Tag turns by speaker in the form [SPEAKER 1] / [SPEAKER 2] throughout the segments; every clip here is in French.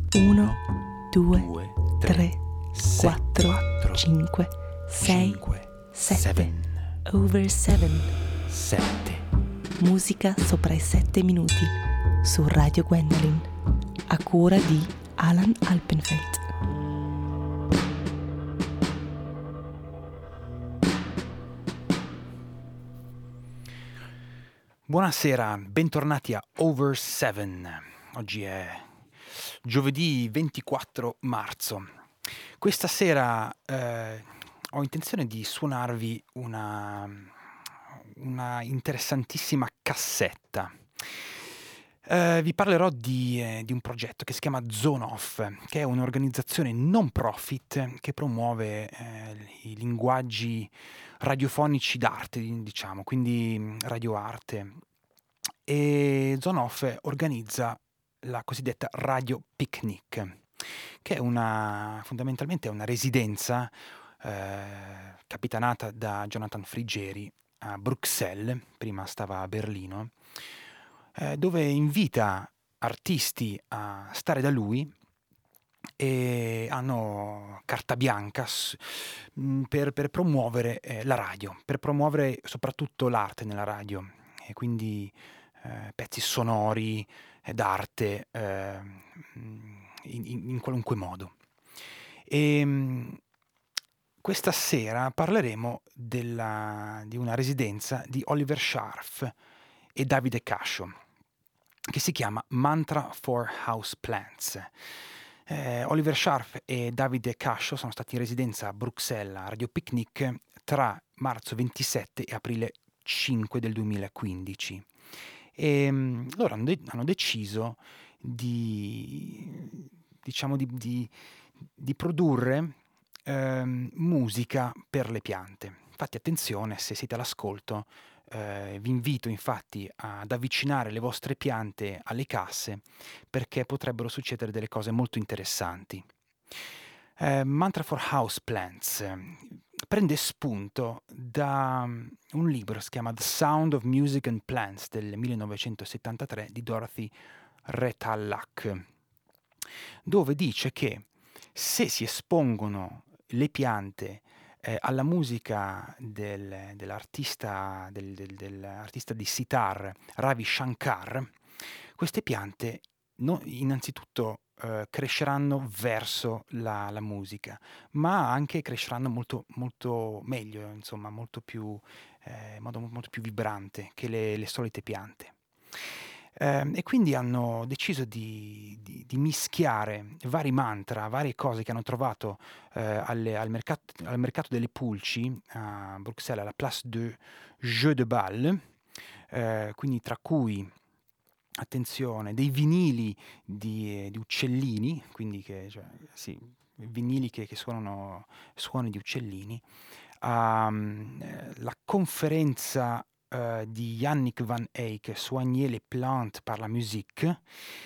[SPEAKER 1] 1, 2,
[SPEAKER 2] 2,
[SPEAKER 1] 3, 4,
[SPEAKER 2] 4,
[SPEAKER 1] 5, 6,
[SPEAKER 2] 5,
[SPEAKER 1] 7. Over 7.
[SPEAKER 2] 7.
[SPEAKER 1] Musica sopra i 7 minuti su Radio Gwendolyn, a cura di Alan Alpenfeld.
[SPEAKER 2] Buonasera, bentornati a Over 7. Oggi è giovedì 24 marzo. Questa sera ho intenzione di suonarvi una interessantissima cassetta. Vi parlerò di un progetto che si chiama Zone Off, che è un'organizzazione non profit che promuove i linguaggi radiofonici d'arte, diciamo, quindi radioarte. E Zone Off organizza la cosiddetta Radio Picnic, che è fondamentalmente una residenza capitanata da Jonathan Frigeri a Bruxelles, prima stava a Berlino, dove invita artisti a stare da lui e hanno carta bianca per promuovere la radio, per promuovere soprattutto l'arte nella radio, e quindi pezzi sonori d'arte in qualunque modo. Questa sera parleremo di una residenza di Oliver Scharf e Davide Cascio, che si chiama Mantra for Houseplants. Oliver Scharf e Davide Cascio sono stati in residenza a Bruxelles a Radio Picnic tra marzo 27 e aprile 5 del 2015. Loro hanno deciso di produrre musica per le piante. Infatti attenzione, se siete all'ascolto, vi invito infatti ad avvicinare le vostre piante alle casse, perché potrebbero succedere delle cose molto interessanti. Mantra for Houseplants prende spunto da un libro che si chiama The Sound of Music and Plants del 1973 di Dorothy Retallack, dove dice che se si espongono le piante alla musica dell'artista di sitar Ravi Shankar, queste piante innanzitutto cresceranno verso la musica, ma anche cresceranno molto, molto meglio, insomma, molto più, in modo molto più vibrante che le solite piante. E quindi hanno deciso di mischiare vari mantra, varie cose che hanno trovato al mercato delle pulci a Bruxelles, alla Place de Jeux de Bal, quindi tra cui, attenzione, dei vinili di uccellini, quindi vinili che suonano suoni di uccellini, la conferenza di Yannick Van Eyck, Soigner les plantes par la musique,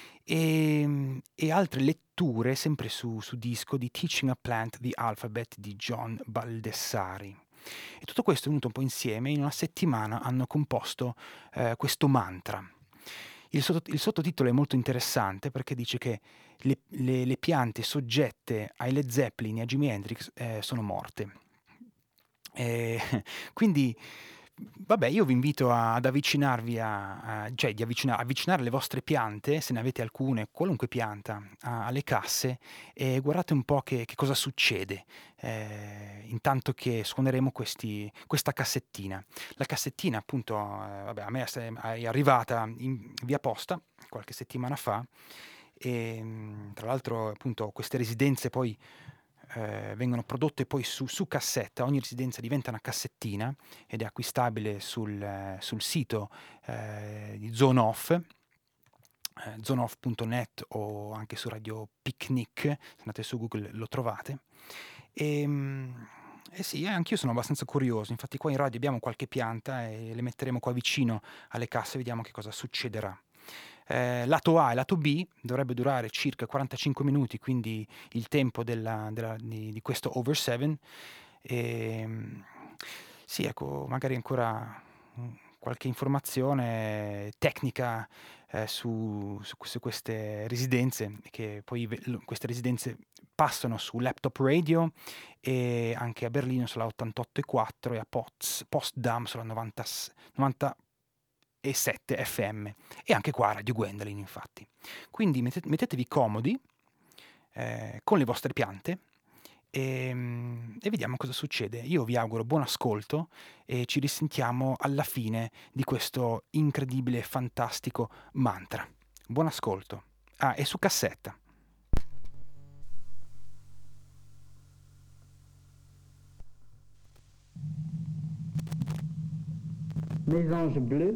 [SPEAKER 2] e altre letture sempre su disco di Teaching a Plant the Alphabet di John Baldessari. E tutto questo è venuto un po' insieme, in una settimana hanno composto questo mantra. Il sottotitolo è molto interessante perché dice che le piante soggette ai Led Zeppelin e a Jimi Hendrix sono morte. Quindi, vabbè, io vi invito ad avvicinarvi avvicinare le vostre piante, se ne avete alcune, qualunque pianta, alle casse, e guardate un po' che cosa succede intanto che suoneremo questa cassettina. La cassettina, appunto, a me è arrivata via posta qualche settimana fa, e tra l'altro, appunto, queste residenze poi vengono prodotte poi su cassetta. Ogni residenza diventa una cassettina ed è acquistabile sul sito di Zone Off, zoneoff.net, o anche su Radio Picnic, se andate su Google lo trovate. Sì, anch'io sono abbastanza curioso, infatti qua in radio abbiamo qualche pianta e le metteremo qua vicino alle casse, vediamo che cosa succederà. Lato A e lato B dovrebbe durare circa 45 minuti, quindi il tempo di questo Over 7. Sì, ecco, magari ancora qualche informazione tecnica su queste residenze, che poi queste residenze passano su Laptop Radio, e anche a Berlino sulla 88,4 e a Potsdam sulla 97 FM, e anche qua a Radio Gwendolyn, infatti. Quindi mettetevi comodi con le vostre piante e vediamo cosa succede. Io vi auguro buon ascolto e ci risentiamo alla fine di questo incredibile e fantastico mantra. Buon ascolto. Ah, e su cassetta.
[SPEAKER 3] Mes anges bleus,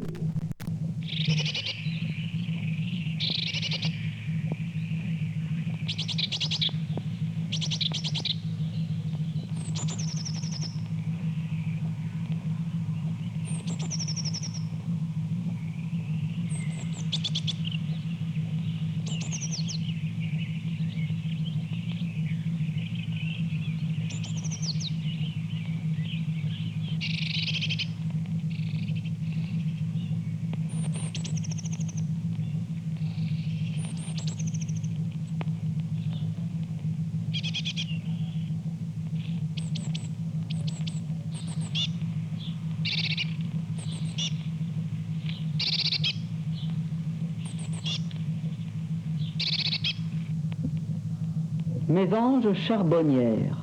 [SPEAKER 3] mes anges charbonnières.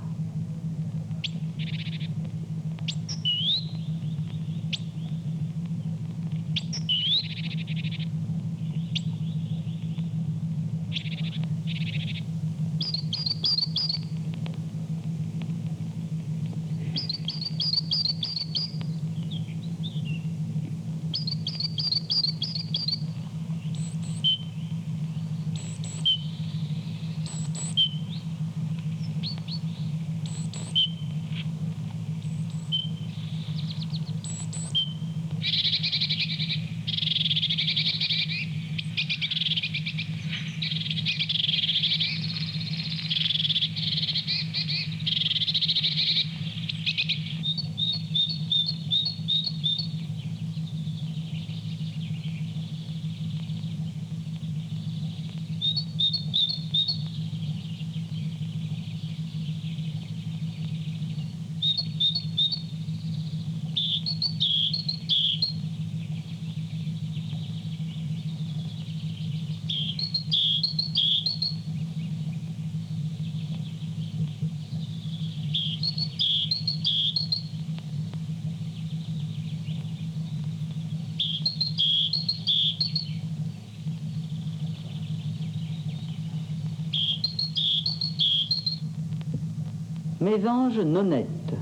[SPEAKER 3] Mes anges nonnettes.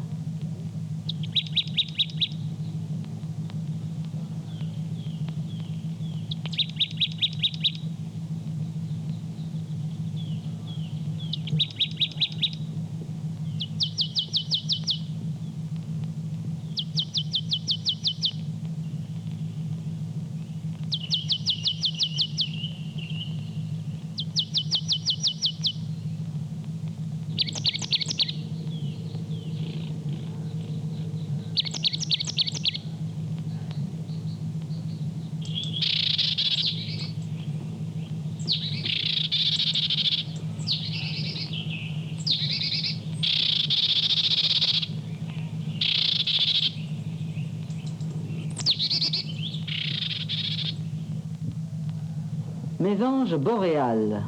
[SPEAKER 3] Mes anges boréales.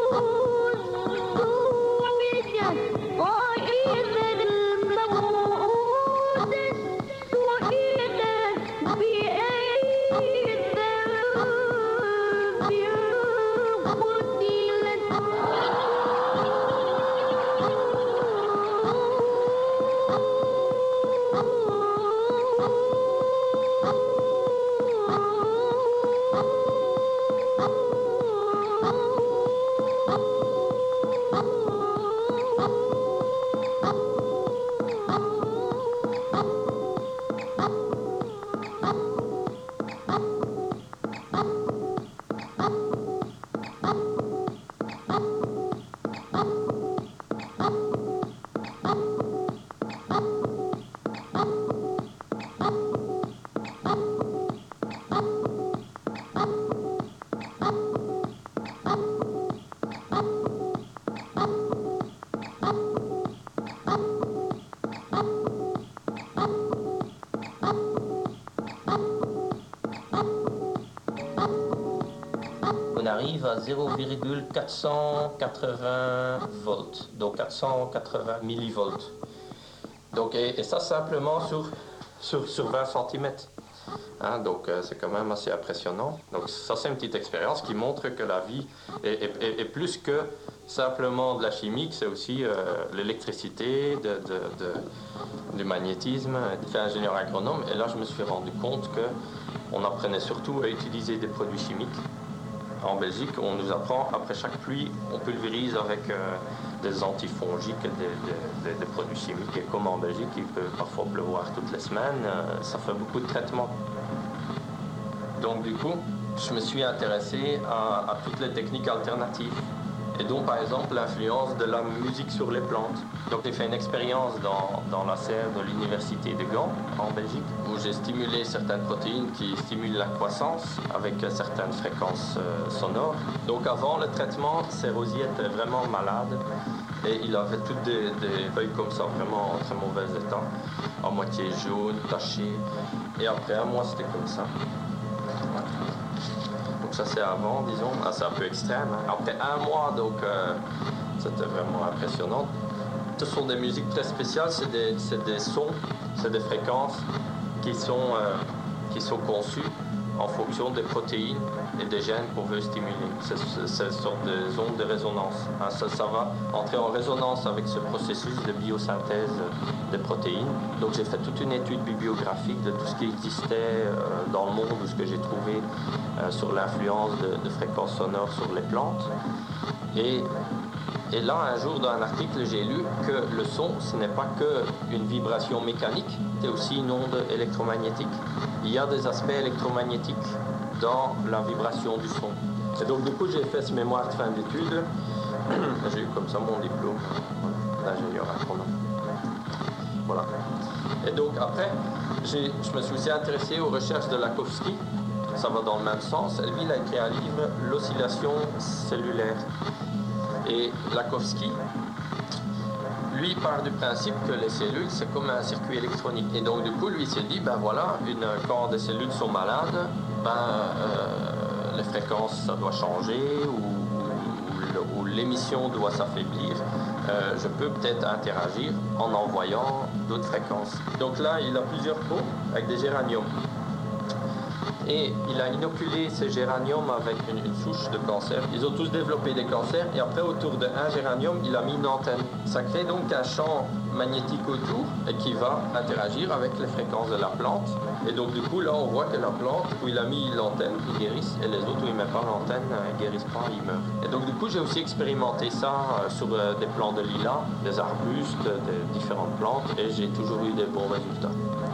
[SPEAKER 4] On arrive à 0,480 volts, donc 480 millivolts. Donc, et ça simplement sur 20 cm. Hein, donc c'est quand même assez impressionnant. Donc ça c'est une petite expérience qui montre que la vie est plus que simplement de la chimie, c'est aussi l'électricité, du magnétisme. J'ai fait ingénieur agronome et là je me suis rendu compte qu'on apprenait surtout à utiliser des produits chimiques. En Belgique, on nous apprend, après chaque pluie, on pulvérise avec des antifongiques, des produits chimiques. Et comme en Belgique, il peut parfois pleuvoir toutes les semaines, ça fait beaucoup de traitements. Donc du coup, je me suis intéressé à toutes les techniques alternatives. Et donc, par exemple, l'influence de la musique sur les plantes. Donc, j'ai fait une expérience dans la serre de l'université de Gand, en Belgique, où j'ai stimulé certaines protéines qui stimulent la croissance avec certaines fréquences sonores. Donc, avant le traitement, ces rosiers étaient vraiment malades et il avait toutes des feuilles comme ça, vraiment en très mauvais état, à moitié jaune, tachées. Et après un mois, c'était comme ça. Donc ça c'est avant, disons, c'est un peu extrême. Hein. Après un mois, donc c'était vraiment impressionnant. Ce sont des musiques très spéciales, c'est des sons, c'est des fréquences qui sont conçues en fonction des protéines et des gènes qu'on veut stimuler. C'est une sorte de ondes de résonance. Hein. Ça va entrer en résonance avec ce processus de biosynthèse des protéines. Donc j'ai fait toute une étude bibliographique de tout ce qui existait dans le monde, ou ce que j'ai trouvé sur l'influence de fréquences sonores sur les plantes. Et là, un jour, dans un article, j'ai lu que le son, ce n'est pas qu'une vibration mécanique, c'est aussi une onde électromagnétique. Il y a des aspects électromagnétiques dans la vibration du son. Et donc, du coup, j'ai fait ce mémoire de fin d'études. J'ai eu comme ça mon diplôme d'ingénieur agronome. Voilà. Et donc, après, je me suis aussi intéressé aux recherches de Lakhovsky. Ça va dans le même sens. Lui, il a écrit un livre, L'oscillation cellulaire. Et Lakhovsky, lui, part du principe que les cellules, c'est comme un circuit électronique. Et donc, du coup, lui, il s'est dit, ben voilà, quand des cellules sont malades, les fréquences, ça doit changer, ou l'émission doit s'affaiblir. Je peux peut-être interagir en envoyant d'autres fréquences. Donc là, il a plusieurs pots avec des géraniums. Et il a inoculé ces géraniums avec une souche de cancer. Ils ont tous développé des cancers et après, autour d'un géranium, il a mis une antenne. Ça crée donc un champ magnétique autour et qui va interagir avec les fréquences de la plante. Et donc du coup, là, on voit que la plante, où il a mis l'antenne, ils guérissent, et les autres, où il ne met pas l'antenne, ils ne guérissent pas, ils meurent. Et donc du coup, j'ai aussi expérimenté ça sur des plants de lilas, des arbustes, des différentes plantes, et j'ai toujours eu des bons résultats.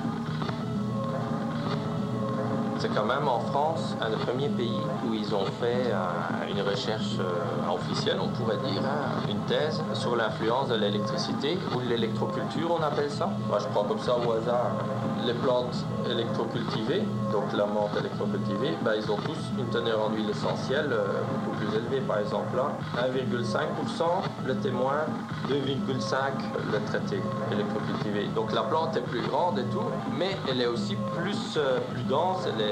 [SPEAKER 4] C'est quand même en France un des premiers pays où ils ont fait une recherche officielle, on pourrait dire, une thèse sur l'influence de l'électricité ou de l'électroculture, on appelle ça. Moi, je prends comme ça au hasard les plantes électrocultivées, donc la menthe électrocultivée, ils ont tous une teneur en huile essentielle beaucoup plus élevée. Par exemple, là, 1,5% le témoin, 2,5% le traité électrocultivé. Donc la plante est plus grande et tout, mais elle est aussi plus dense, elle est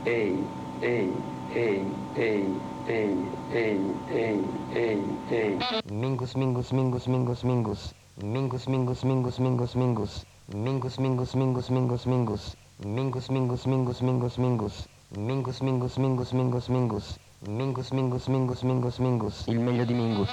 [SPEAKER 5] Mingus, mingus, mingus, mingus, mingus. Mingus, mingus, mingus, mingus, mingus. Mingus, mingus, mingus, mingus, mingus. Mingus, mingus, mingus, mingus, mingus. Mingus, mingus, mingus, mingus, mingus. Mingus, mingus, mingus, mingus, mingus. Il meglio di Mingus.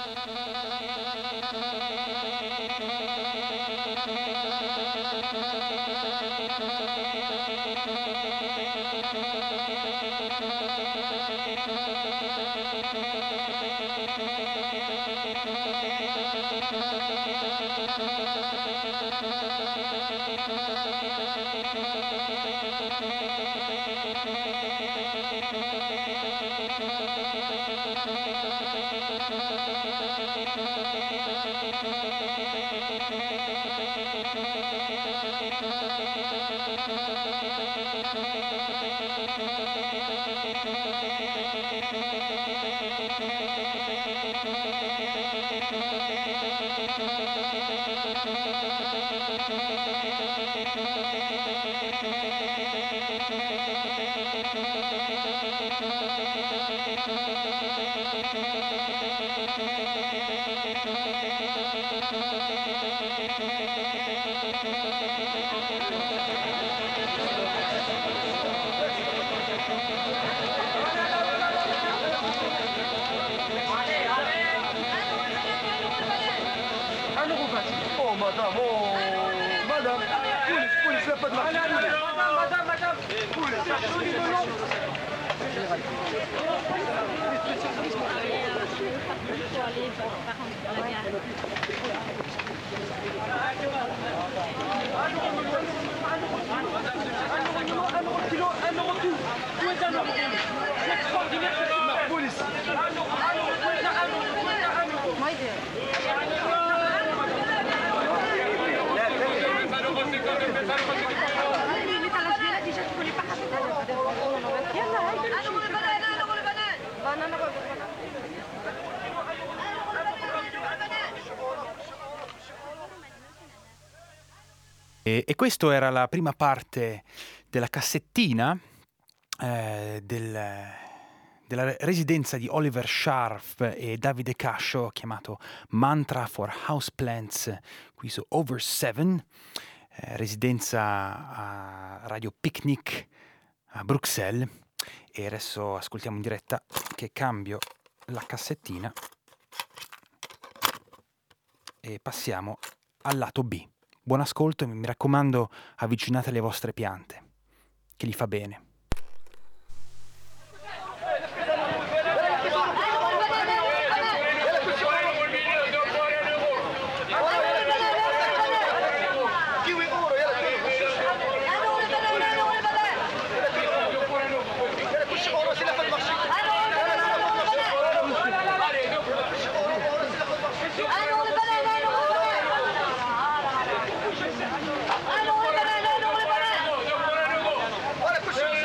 [SPEAKER 2] E questo era la prima parte della cassettina della residenza di Oliver Sharp e Davide Cascio, chiamato Mantra for Houseplants, qui su Over 7, residenza a Radio Picnic a Bruxelles. E adesso ascoltiamo in diretta che cambio la cassettina e passiamo al lato B. Buon ascolto e mi raccomando, avvicinate le vostre piante, che gli fa bene.
[SPEAKER 6] Olha,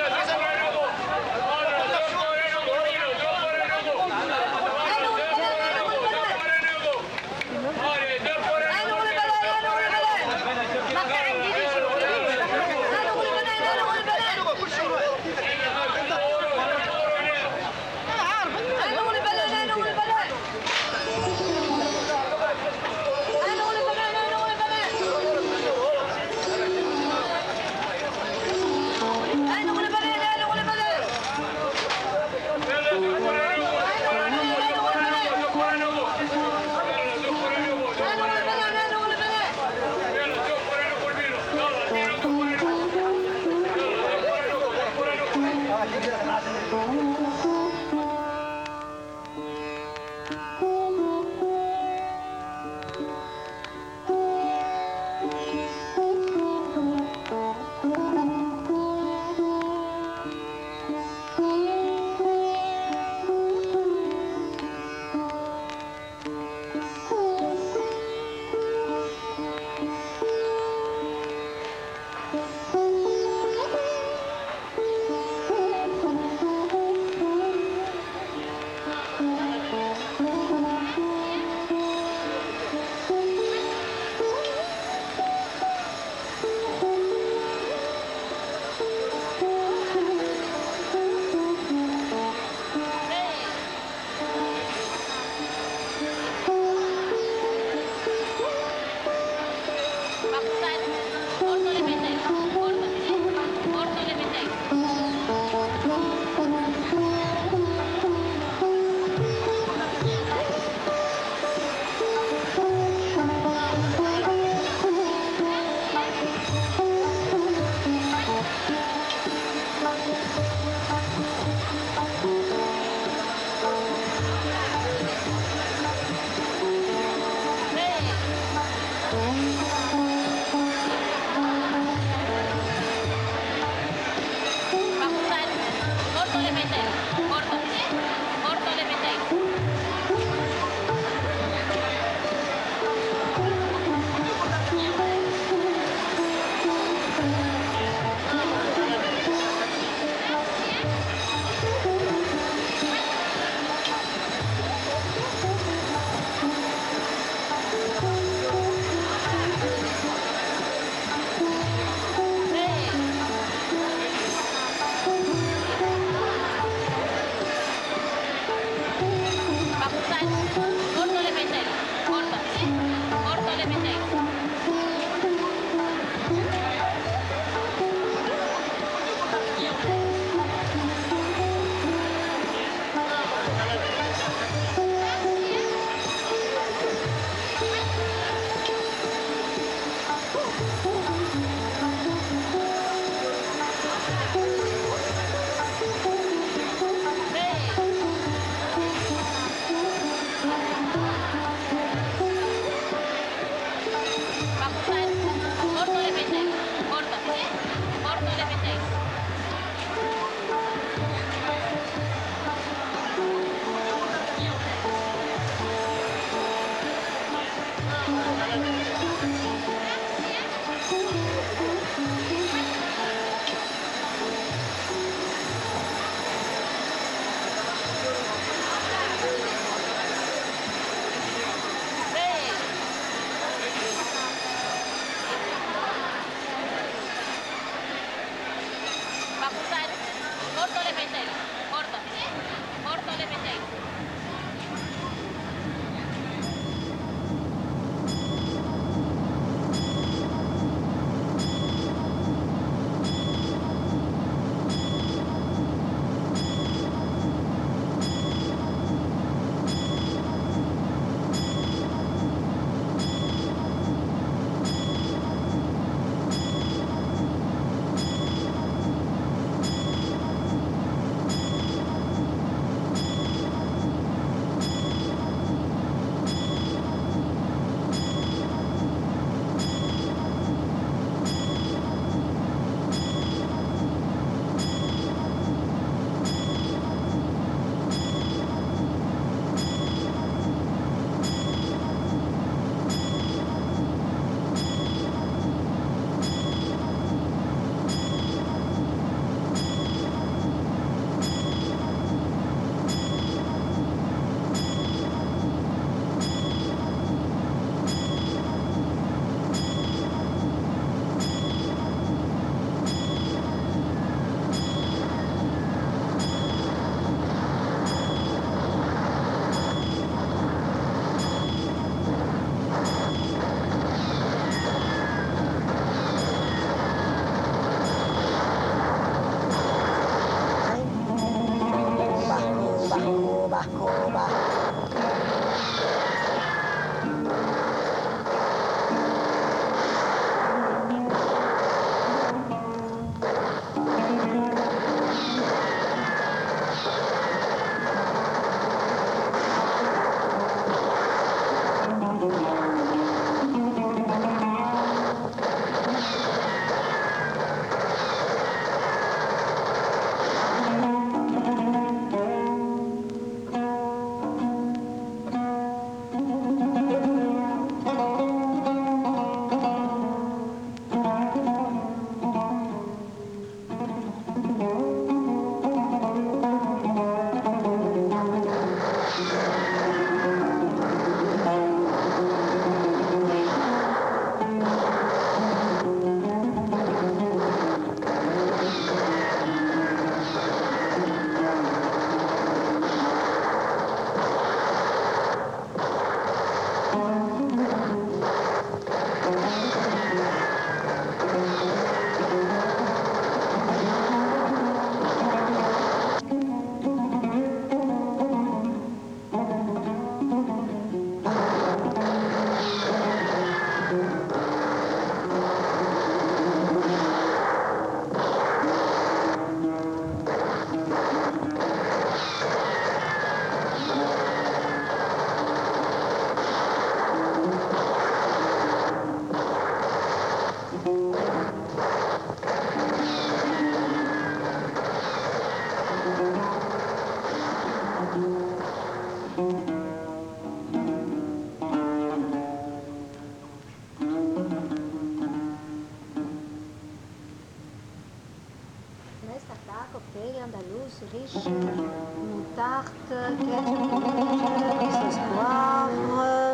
[SPEAKER 7] riche, moutarde, ketchup, sauce poivre,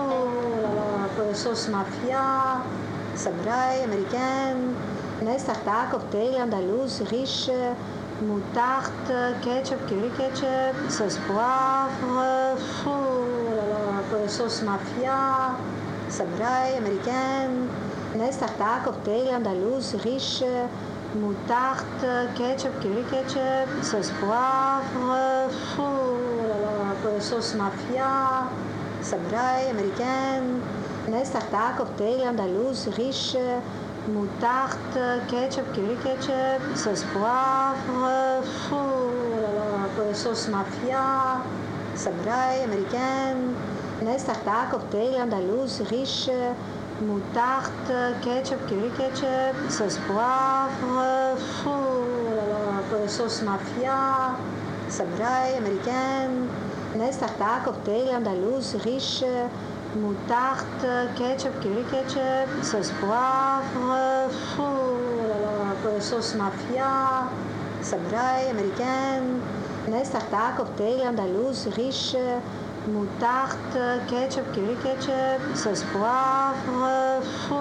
[SPEAKER 7] sauce mafia, samouraï américaine, Nestarta, cocktail andalouse, riche, moutarde, ketchup, curry ketchup, sauce poivre, sauce mafia, samouraï américaine, Nestarta, cocktail andalouse, riche, moutarde, ketchup, curry ketchup, sauce poivre, sauce mafia, samouraï américaine, Nestarta, cocktail andalouse, riche, moutarde, ketchup, curry ketchup, sauce poivre, sauce mafia, samouraï américaine, Nestarta, cocktail andalouse, riche, moutarde, ketchup, curry ketchup, sauce poivre, sauce mafia, samouraï américaine, Nestarta, cocktail andalouse, riche, moutarde, ketchup, curry ketchup, sauce poivre, sauce mafia, samouraï américaine, Nestarta, cocktail andalouse, riche, moutarde, ketchup, curry ketchup, sauce poivre,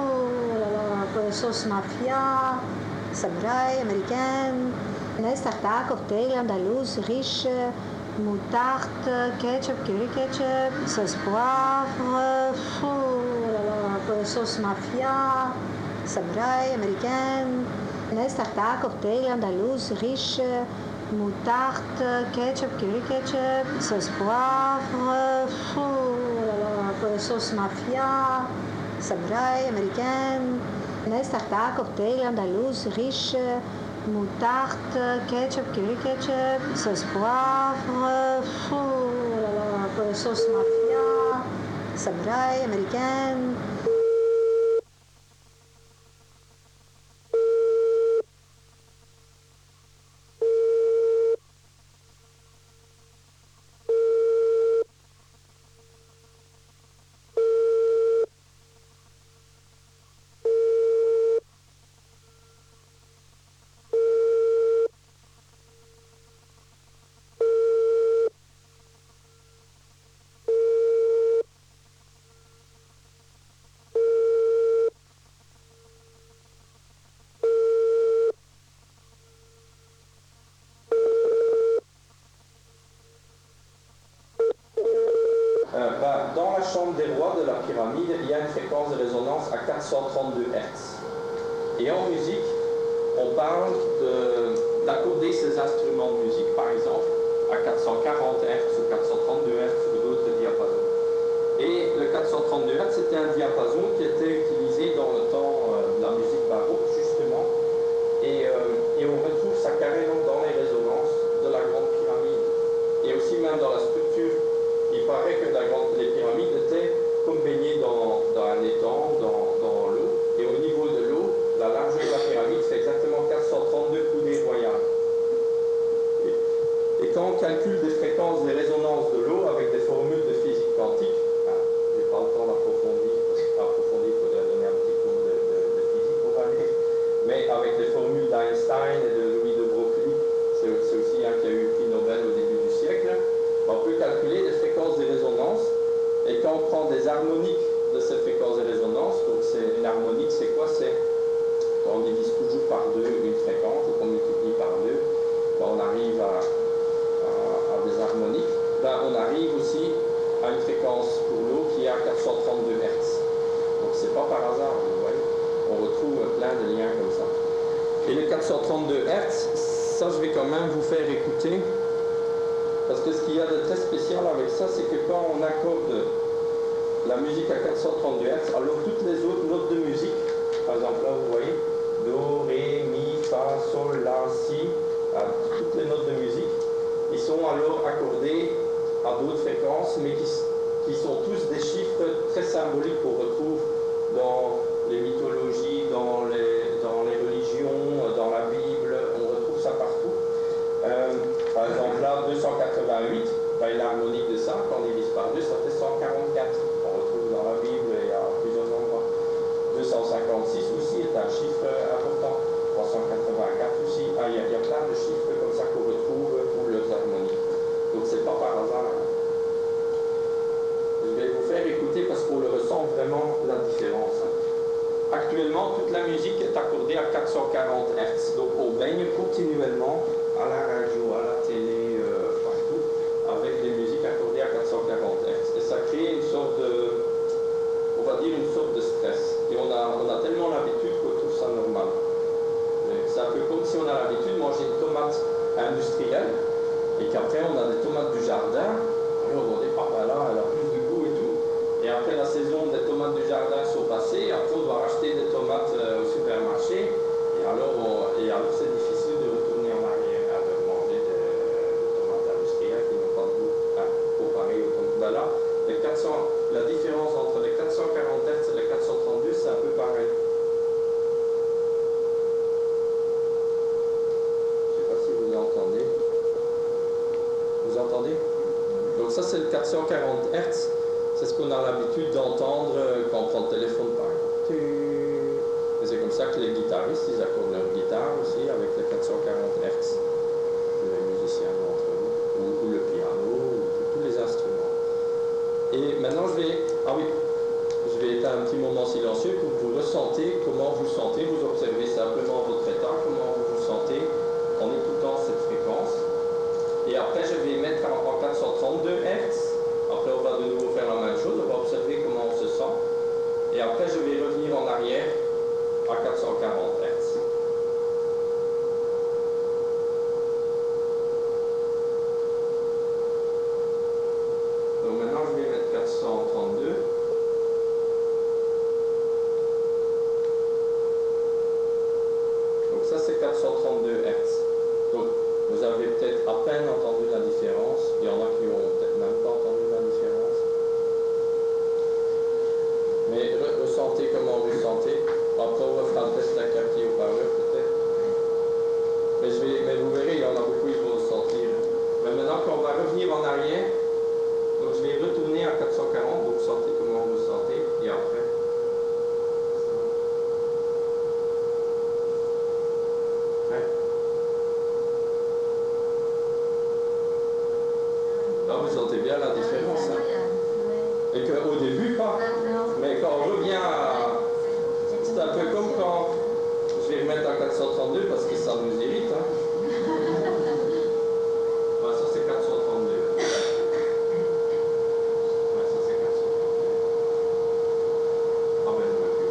[SPEAKER 7] sauce mafia, samouraï américaine, Nestarta, cocktail andalouse, riche, moutarde, ketchup, curry ketchup, sauce poivre, sauce mafia, samouraï américaine, Nestarta, cocktail andalouse, riche, moutarde, ketchup, curry ketchup, sauce poivre, sauce mafia, samouraï américaine, Nestarta, cocktail andalouse, riche, moutarde, ketchup, curry ketchup, sauce poivre, sauce mafia, samouraï américaine.
[SPEAKER 4] Dans la chambre des rois de la pyramide, il y a une fréquence de résonance à 432 Hz. Et en musique, on parle d'accorder ces instruments de musique, par exemple, à 440 Hz ou 432 Hz ou d'autres diapasons. Et le 432 Hz, c'était un diapason qui était utilisé dans le temps de la musique baroque, justement. Et on retrouve ça carrément dans les résonances de la Grande Pyramide. Et aussi même dans la structure. Il paraît que les pyramides étaient comme baignées dans un étang, dans l'eau. Et au niveau de l'eau, la largeur de la pyramide, c'est exactement 432 coudées royales. Et quand on calcule des fréquences des résonances de l'eau avec des formules de physique quantique, je n'ai pas le temps d'approfondir, parce qu'approfondir, il faudrait donner un petit cours de physique pour aller. Mais avec les formules d'Einstein et de Louis de Broglie, c'est aussi un qui a eu le prix Nobel au début du siècle, on peut calculer les fréquences des résonances, et quand on prend des harmoniques de ces fréquences des résonances, donc c'est une harmonique, c'est quoi? C'est quand on divise toujours par deux une fréquence, et qu'on multiplie par deux, on arrive à des harmoniques. On arrive aussi à une fréquence pour l'eau qui est à 432 Hz. Donc c'est pas par hasard, vous voyez. On retrouve plein de liens comme ça. Et les 432 Hz, ça je vais quand même vous faire écouter. Parce que ce qu'il y a de très spécial avec ça, c'est que quand on accorde la musique à 432 Hz, alors toutes les autres notes de musique, par exemple là vous voyez, Do, Ré, Mi, Fa, Sol, La, Si, toutes les notes de musique, ils sont alors accordés à d'autres fréquences, mais qui sont tous des chiffres très symboliques qu'on retrouve dans les mythologies, dans les religions, dans la Bible, on retrouve ça partout. Par exemple là, 288, l'harmonique de ça, quand on divise par 2, ça fait 144. On retrouve dans la Bible et à plusieurs endroits. 256 aussi est un chiffre important. 384 aussi. Il y a plein de chiffres comme ça qu'on retrouve 440 Hz. Donc on baigne continuellement à la radio, à la télé, partout, avec des musiques accordées à 440 Hz. Et ça crée une sorte de, on va dire une sorte de stress. Et on a tellement l'habitude qu'on trouve ça normal. C'est un peu comme si on a l'habitude de manger une tomate industrielle et qu'après on a des tomates du jardin. Alors on dit, ah ben là, elle a plus de goût et tout. Et après la saison des tomates du jardin sont passées, après on doit racheter des tomates au supermarché. Et alors c'est difficile de retourner en arrière à manger des tomates industrielles qui n'ont pas de goût comparé aux tomates. Ben là, la différence entre les 440 Hz et les 432, c'est un peu pareil. Entendez? Vous entendez? Donc ça c'est le 440 Hz, c'est ce qu'on a l'habitude d'entendre quand on prend le téléphone par exemple. Et c'est comme ça que les guitaristes, ils accordent leur guitare aussi avec les 440 Hz. Les musiciens d'entre eux, ou le piano, ou tous les instruments. Et maintenant je vais éteindre un petit moment silencieux pour que vous ressentez comment vous sentez, vous observez simplement votre état, comment vous vous sentez en écoutant cette fréquence. Et après je vais mettre en 432 Hz. Après on va de nouveau faire la même chose, on va observer comment on se sent. Et après je vais revenir en arrière à 440 Hz. Donc maintenant je vais mettre 432. Donc ça c'est 432 Hz. Donc, vous avez peut-être à peine entendu la différence. Il y en a qui n'ont peut-être même pas entendu la différence. Mais ressentez comment vous sentez. Après, on fera le test à capter au power peut-être. Mais vous verrez, il y en a beaucoup qui vont le sentir. Mais maintenant, quand on va revenir en arrière, donc je vais retourner à 440. Donc, sentez comment vous sentez. Et après. Vous sentez bien la différence. Hein? Et qu'au début, pas. Mais quand on revient à... C'est un peu comme quand... Je vais remettre à 432 parce que ça nous irrite. Hein? Ouais, ça c'est 432. Ouais, ça c'est 432. Ah ben, je recule.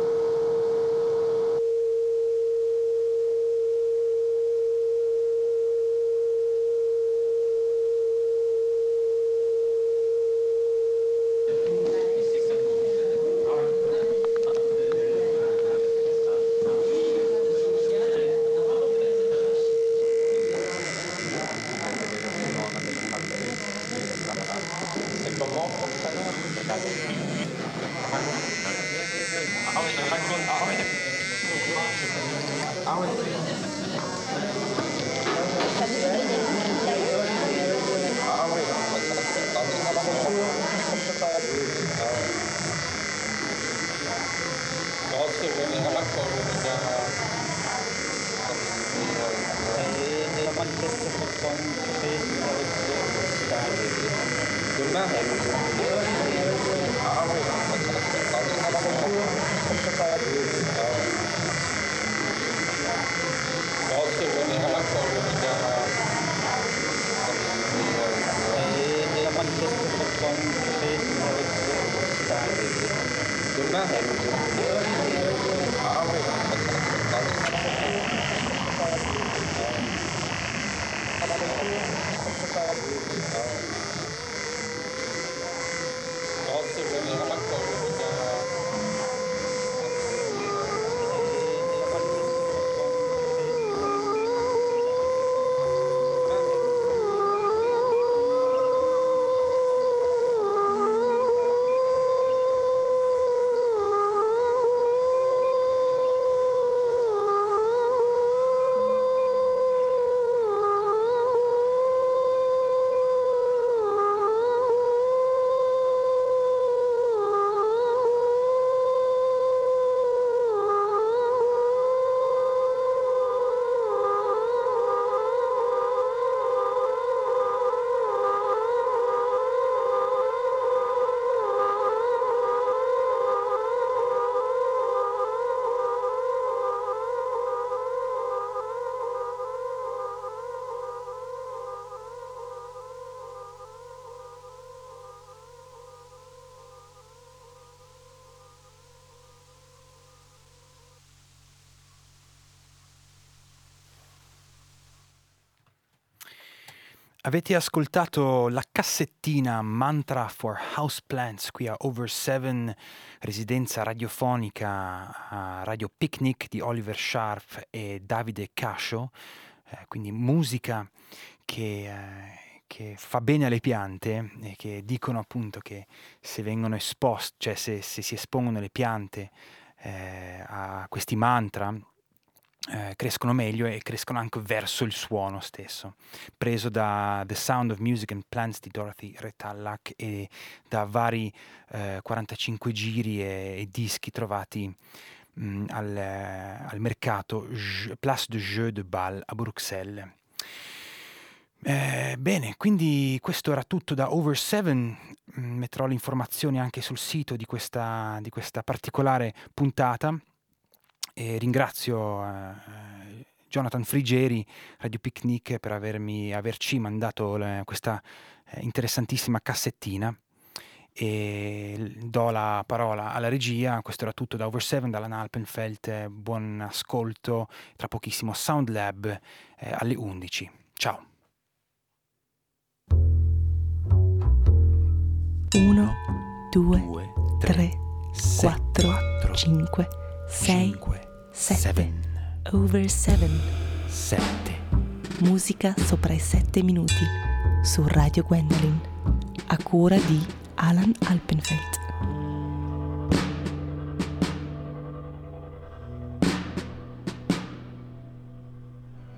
[SPEAKER 2] Avete ascoltato la cassettina Mantra for Houseplants qui a Over 7, residenza radiofonica a Radio Picnic di Oliver Sharp e Davide Cascio, quindi musica che fa bene alle piante e che dicono appunto che se vengono esposte, cioè se si espongono le piante a questi mantra, crescono meglio e crescono anche verso il suono stesso, preso da The Sound of Music and Plants di Dorothy Retallack e da vari 45 giri e dischi trovati al mercato Place de Jeux de Bâle a Bruxelles. Bene, quindi questo era tutto da Over 7. Metterò le informazioni anche sul sito di questa particolare puntata. E ringrazio Jonathan Frigeri, Radio Picnic, per averci mandato questa interessantissima cassettina, e do la parola alla regia. Questo era tutto da Over 7, dalla Alpenfeld. Buon ascolto, tra pochissimo Sound Lab alle 11. Ciao.
[SPEAKER 1] 1, 2, 3, 4, 5, 6, 7. Over 7. Musica sopra i 7 minuti su Radio Gwendolyn, a cura di Alan Alpenfeld.